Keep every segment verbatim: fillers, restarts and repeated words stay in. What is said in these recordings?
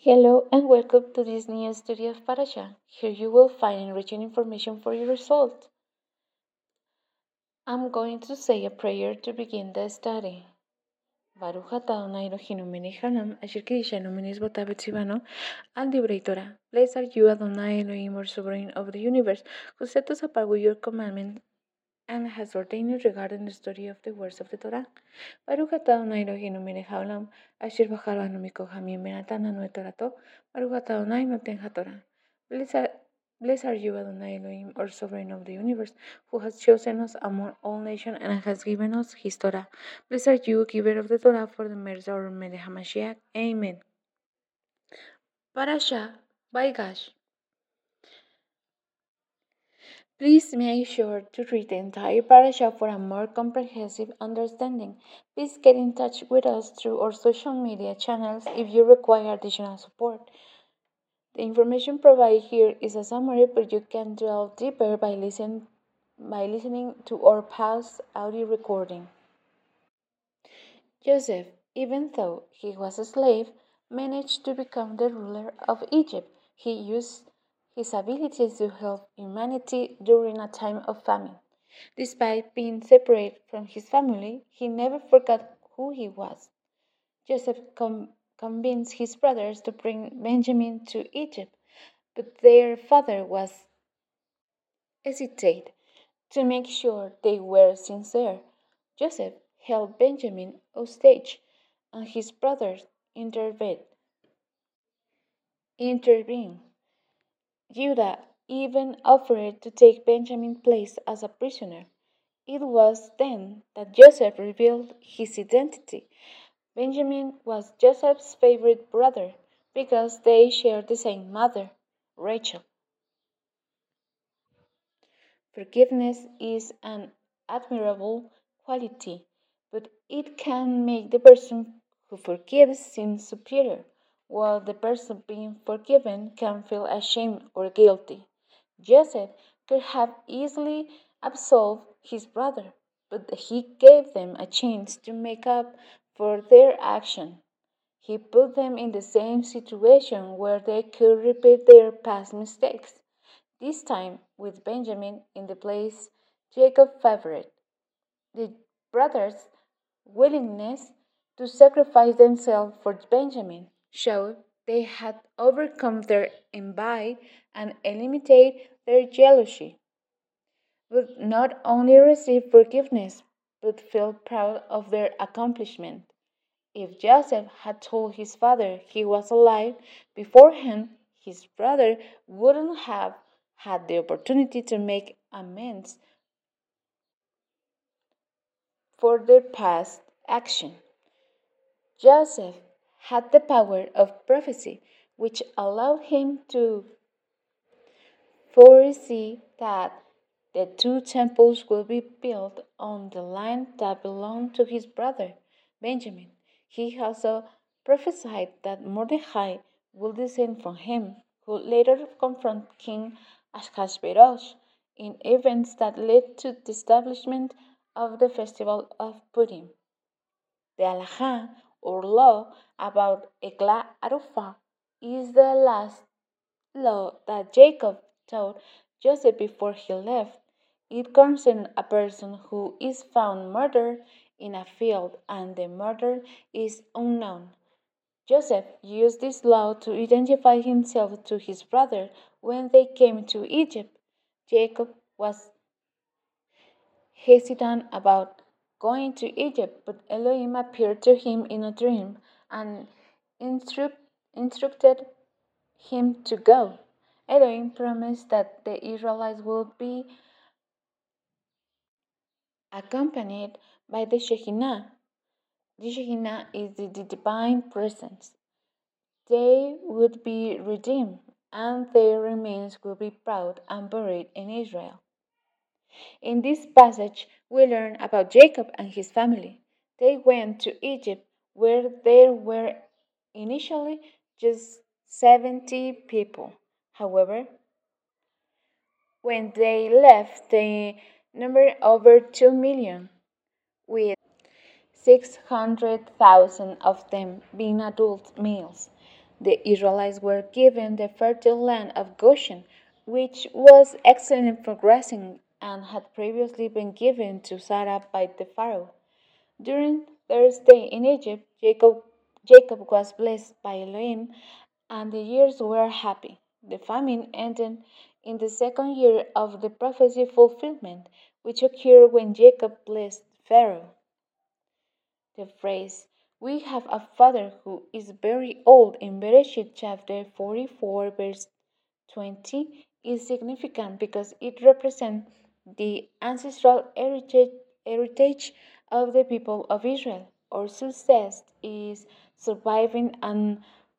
Hello and welcome to this new study of Parasha. Here you will find enriching information for your result. I'm going to say a prayer to begin the study. Baruch atah Adonai Eloheinu melech haolam, asher kiddushanu mitzvotav v'tzivanu al divrei Torah. Blessed are you, Adonai Elohim, or sovereign of the universe, who set us apart with your commandment and has ordained you regarding the study of the words of the Torah. Baruch atah Adonai Eloheinu melech haolam, asher bachar banu mikol hamim benatan lanu et Torato. Baruch atah Adonai noten haTorah. Blessed Blessed are you, Adonai Elohim, or sovereign of the universe, who has chosen us among all nations and has given us his Torah. Blessed are you, giver of the Torah, for the mercy of our Melech HaMashiach. Amen. Parasha by Gash. Please make sure to read the entire parasha for a more comprehensive understanding. Please get in touch with us through our social media channels if you require additional support. The information provided here is a summary, but you can delve deeper by, listen, by listening to our past audio recording. Joseph, even though he was a slave, managed to become the ruler of Egypt. He used his abilities to help humanity during a time of famine. Despite being separate from his family, he never forgot who he was. Joseph com- convinced his brothers to bring Benjamin to Egypt, but their father was hesitate to make sure they were sincere. Joseph held Benjamin hostage, and his brothers intervened. intervened. Judah even offered to take Benjamin's place as a prisoner. It was then that Joseph revealed his identity. Benjamin was Joseph's favorite brother because they shared the same mother, Rachel. Forgiveness is an admirable quality, but it can make the person who forgives seem superior, while the person being forgiven can feel ashamed or guilty. Joseph could have easily absolved his brother, but he gave them a chance to make up for their action. He put them in the same situation where they could repeat their past mistakes. This time with Benjamin in the place Jacob favored. The brothers' willingness to sacrifice themselves for Benjamin showed they had overcome their envy and eliminated their jealousy. Would not only receive forgiveness, but feel proud of their accomplishment. If Joseph had told his father he was alive beforehand, his brother wouldn't have had the opportunity to make amends for their past action. Joseph had the power of prophecy, which allowed him to foresee that the two temples would be built on the land that belonged to his brother Benjamin. He also prophesied that Mordecai would descend from him, who later confronted King Ahasuerus in events that led to the establishment of the festival of Purim. The Halakha, or law about Eglah Arufah, is the last law that Jacob taught Joseph before he left. It concerns a person who is found murdered in a field and the murderer is unknown. Joseph used this law to identify himself to his brother when they came to Egypt. Jacob was hesitant about going to Egypt, but Elohim appeared to him in a dream and instru- instructed him to go. Elohim promised that the Israelites would be accompanied by the Shekinah. The Shekinah is the, the divine presence. They would be redeemed, and their remains will be brought and buried in Israel. In this passage, we learn about Jacob and his family. They went to Egypt, where there were initially just seventy people. However, when they left, they numbered over two million, with six hundred thousand of them being adult males. The Israelites were given the fertile land of Goshen, which was excellent for grazing and had previously been given to Sarah by the Pharaoh. During their stay in Egypt, Jacob, Jacob was blessed by Elohim, and the years were happy. The famine ended in the second year of the prophecy fulfillment, which occurred when Jacob blessed Pharaoh. The phrase, "We have a father who is very old" in Bereshit chapter forty-four, verse twenty, is significant because it represents the ancestral heritage, heritage of the people of Israel. Our success is surviving and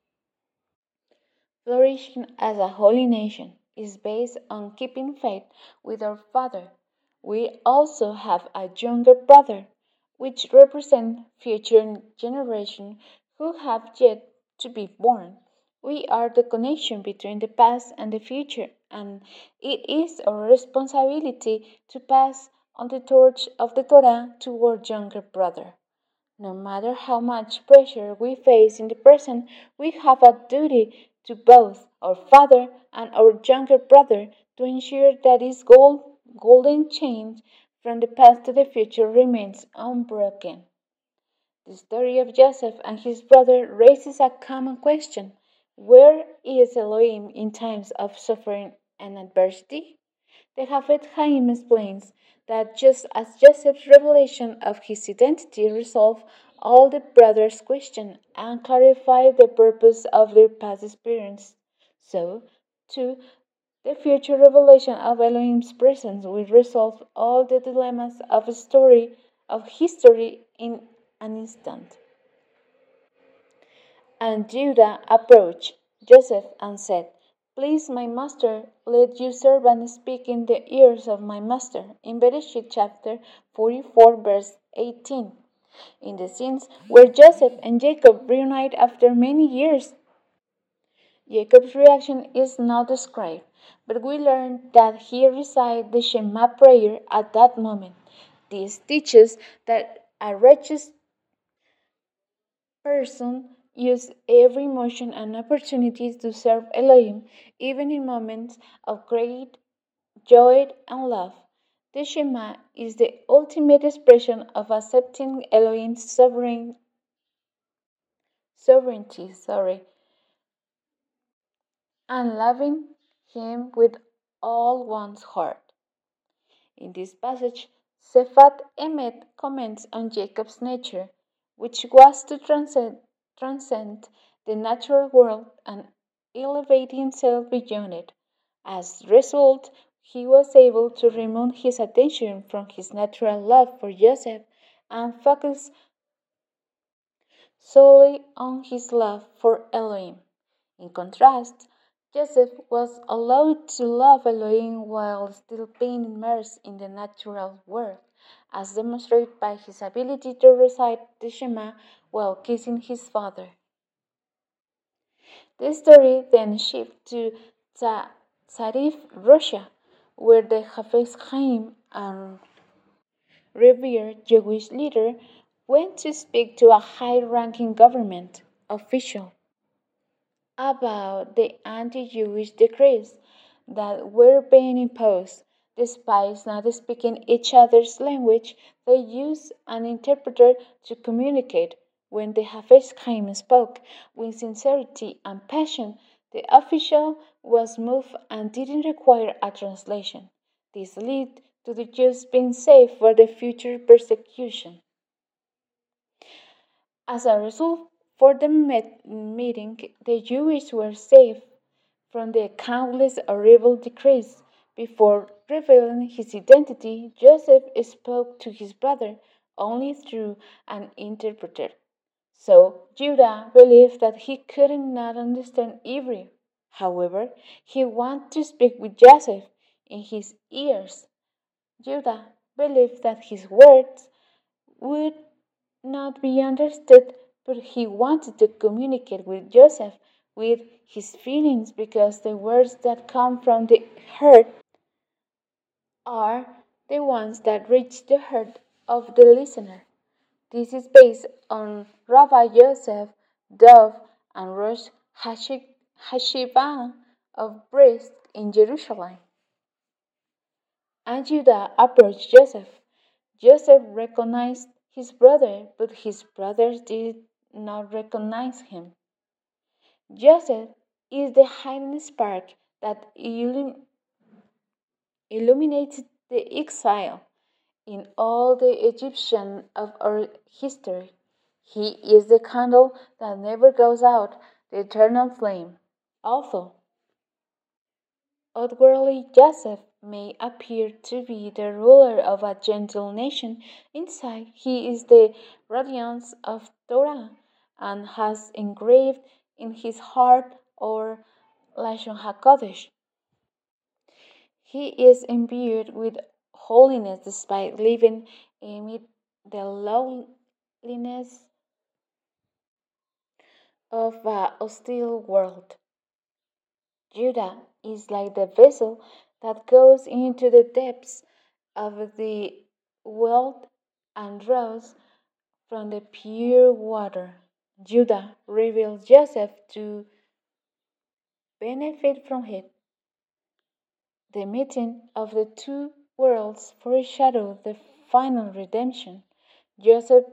flourishing as a holy nation is based on keeping faith with our Father. We also have a younger brother, which represents future generations who have yet to be born. We are the connection between the past and the future, and it is our responsibility to pass on the torch of the Torah to our younger brother. No matter how much pressure we face in the present, we have a duty to both our father and our younger brother to ensure that his gold, golden chain from the past to the future remains unbroken. The story of Joseph and his brother raises a common question: where is Elohim in times of suffering and adversity? The Hafez Chaim explains that just as Joseph's revelation of his identity resolved all the brothers' questions and clarified the purpose of their past experience, so, too, the future revelation of Elohim's presence will resolve all the dilemmas of a story of history in an instant. And Judah approached Joseph and said, "Please, my master, let your servant speak in the ears of my master." In Bereshit chapter forty-four, verse eighteen. In the scenes where Joseph and Jacob reunite after many years, Jacob's reaction is not described, but we learn that he recited the Shema prayer at that moment. This teaches that a righteous person use every emotion and opportunities to serve Elohim, even in moments of great joy and love. The Shema is the ultimate expression of accepting Elohim's sovereign, sovereignty, sorry, and loving Him with all one's heart. In this passage, Sefat Emet comments on Jacob's nature, which was to transcend, transcend the natural world and elevate himself beyond it. As a result, he was able to remove his attention from his natural love for Joseph and focus solely on his love for Elohim. In contrast, Joseph was allowed to love Elohim while still being immersed in the natural world, as demonstrated by his ability to recite the Shema while kissing his father. The story then shifts to Tsarif, Russia, where the Hafez Chaim and revered Jewish leader went to speak to a high-ranking government official about the anti-Jewish decrees that were being imposed. Despite not speaking each other's language, they used an interpreter to communicate. When the Hafez Chaim spoke with sincerity and passion, the official was moved and didn't require a translation. This led to the Jews being saved for the future persecution. As a result, for the met- meeting, the Jews were saved from the countless horrible decrees. Before revealing his identity, Joseph spoke to his brother only through an interpreter. So Judah believed that he could not understand Hebrew. However, he wanted to speak with Joseph in his ears. Judah believed that his words would not be understood, but he wanted to communicate with Joseph with his feelings because the words that come from the heart are the ones that reach the heart of the listener. This is based on Rabbi Joseph Dov and Rosh Hashi- Hashiva of Brest in Jerusalem. And Judah approached Joseph. Joseph recognized his brother, but his brothers did not recognize him. Joseph is the hidden spark that illum- illuminated the exile in all the Egyptian of our history. He is the candle that never goes out, the eternal flame. Although outwardly Joseph may appear to be the ruler of a gentle nation, inside he is the radiance of Torah and has engraved in his heart our Lashon HaKodesh. He is imbued with holiness despite living amid the lowliness of a hostile world. Judah is like the vessel that goes into the depths of the world and draws from the pure water. Judah reveals Joseph to benefit from it. The meeting of the two worlds foreshadowed the final redemption. Joseph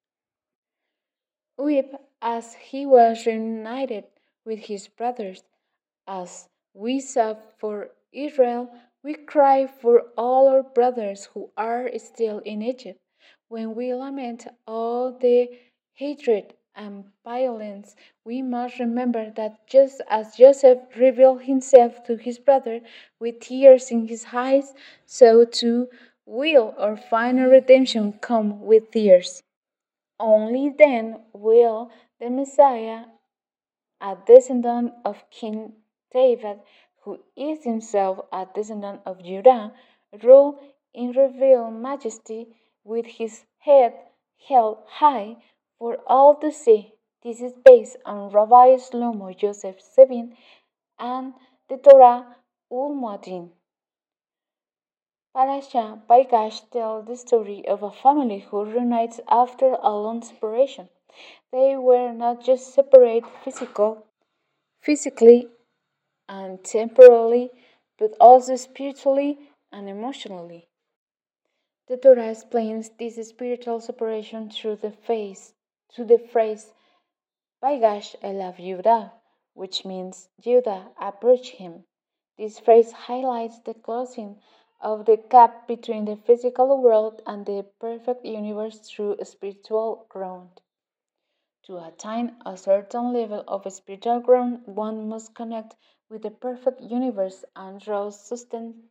wept as he was reunited with his brothers. As we sob for Israel, we cry for all our brothers who are still in Egypt. When we lament all the hatred and violence, we must remember that just as Joseph revealed himself to his brother with tears in his eyes, so too will our final redemption come with tears. Only then will the Messiah, a descendant of King David, who is himself a descendant of Judah, rule in revealed majesty with his head held high for all to see. This is based on Rabbi Shlomo Joseph Sevin and the Torah Ul Moadim. Parasha Baigash tells the story of a family who reunites after a long separation. They were not just separate physical, physically and temporally, but also spiritually and emotionally. The Torah explains this spiritual separation through the face, through the phrase "Vaigash elav Yehuda," which means Judah approached him. This phrase highlights the closing of the gap between the physical world and the perfect universe through spiritual growth. To attain a certain level of spiritual growth, one must connect with the perfect universe and draw susten-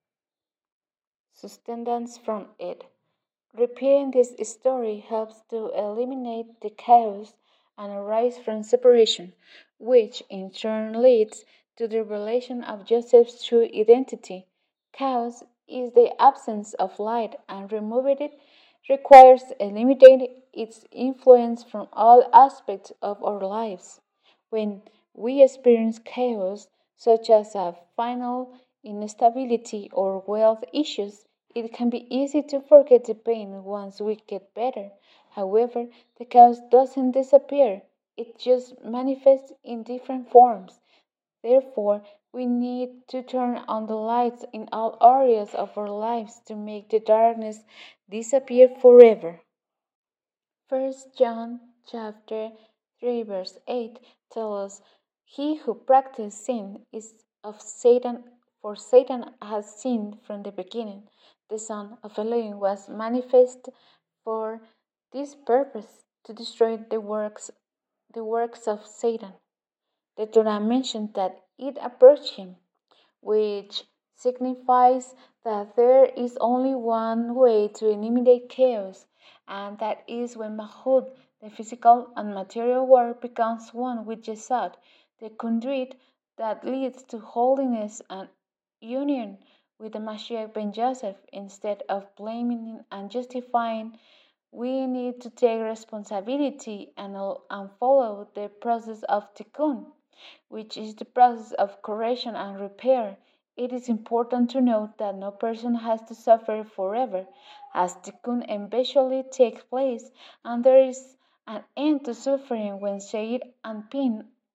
sustenance from it. Repeating this story helps to eliminate the chaos and arise from separation, which in turn leads to the revelation of Joseph's true identity. Chaos is the absence of light, and removing it requires eliminating its influence from all aspects of our lives. When we experience chaos, such as a final instability or wealth issues, it can be easy to forget the pain once we get better. However, the chaos doesn't disappear, it just manifests in different forms. Therefore, we need to turn on the lights in all areas of our lives to make the darkness disappear forever. First John chapter three verse eight tells us, "He who practices sin is of Satan, for Satan has sinned from the beginning. The Son of Elohim was manifest for this purpose, to destroy the works the works of Satan." The Torah mentioned that it approached him, which signifies that there is only one way to eliminate chaos, and that is when Mahud, the physical and material world, becomes one with Jesod, the conduit that leads to holiness and union with the Mashiach ben Joseph. Instead of blaming and justifying, we need to take responsibility and, and follow the process of tikkun, which is the process of correction and repair. It is important to note that no person has to suffer forever, as tikkun eventually takes place, and there is an end to suffering when Seir and Pin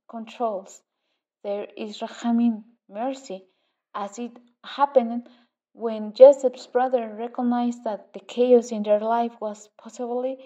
controls. There is Rahamim, mercy, as it happened when Joseph's brother recognized that the chaos in their life was possibly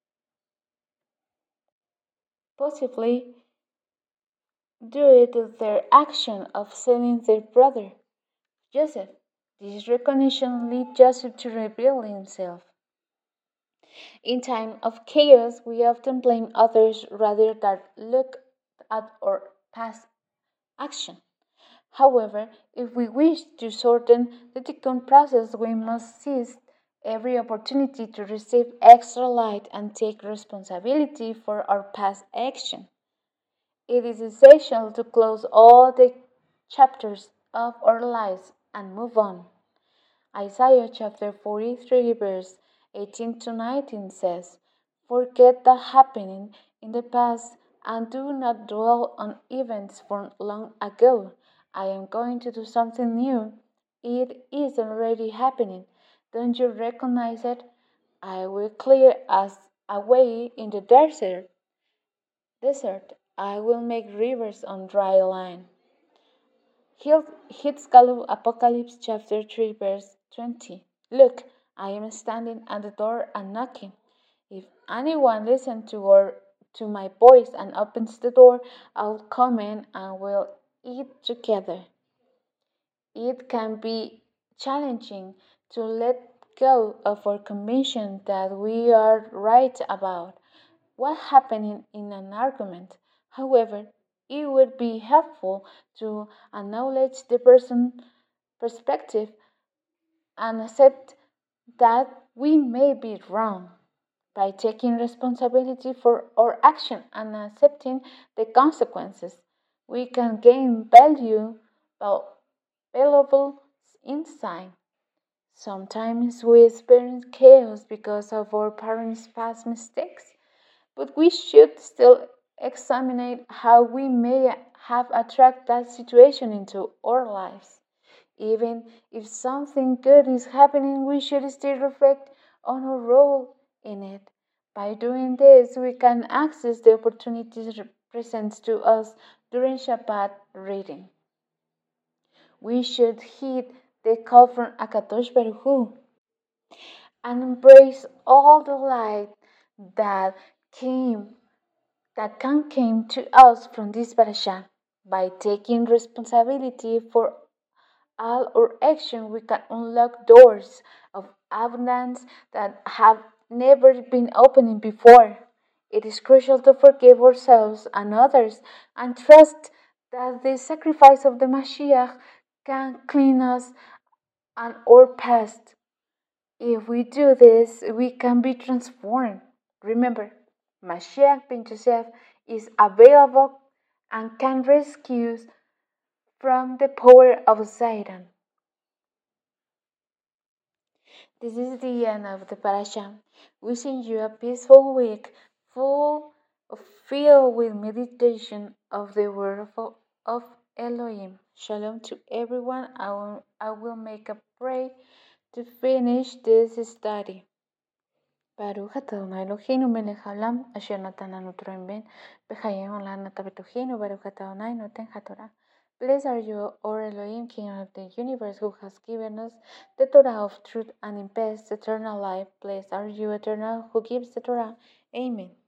possibly due to their action of selling their brother Joseph. This recognition led Joseph to reveal himself. In time of chaos, we often blame others rather than look at our past action. However, if we wish to shorten the tikkun process, we must seize every opportunity to receive extra light and take responsibility for our past action. It is essential to close all the chapters of our lives and move on. Isaiah chapter forty-three, verse eighteen to nineteen says, "Forget the happening in the past and do not dwell on events from long ago. I am going to do something new. It is already happening. Don't you recognize it? I will clear us a way in the desert. Desert. I will make rivers on dry land." Hitzkalu Apocalypse chapter three verse twenty. Look, I am standing at the door and knocking. If anyone listens to or to my voice and opens the door, I'll come in and we'll eat together. It can be challenging to let go of our conviction that we are right about what happened in an argument. However, it would be helpful to acknowledge the person's perspective and accept that we may be wrong. By taking responsibility for our action and accepting the consequences, we can gain value, val- valuable insight. Sometimes we experience chaos because of our parents' past mistakes, but we should still examine how we may have attracted that situation into our lives. Even if something good is happening, we should still reflect on our role in it. By doing this, we can access the opportunities presented to us during Shabbat reading. We should heed the call from Akadosh Baruch Hu and embrace all the light that came that can came to us from this parasha. By taking responsibility for all our action, we can unlock doors of abundance that have never been opened before. It is crucial to forgive ourselves and others and trust that the sacrifice of the Mashiach can clean us and our past. If we do this, we can be transformed. Remember, Mashiach ben Joseph is available and can rescue us from the power of Satan. This is the end of the parasha. Wishing you a peaceful week, full of filled with meditation of the word of, of Elohim. Shalom to everyone. I will, I will make a prayer to finish this study. Baruch atah Adonai Eloheinu melech haolam asher natan lanu Torah ben b'chayei olam nata b'tocheinu Baruch atah Adonai noten haTorah. Blessed are you, O Elohim, King of the universe, who has given us the Torah of truth and imparts eternal life. Blessed are you, Eternal, who gives the Torah. Amen.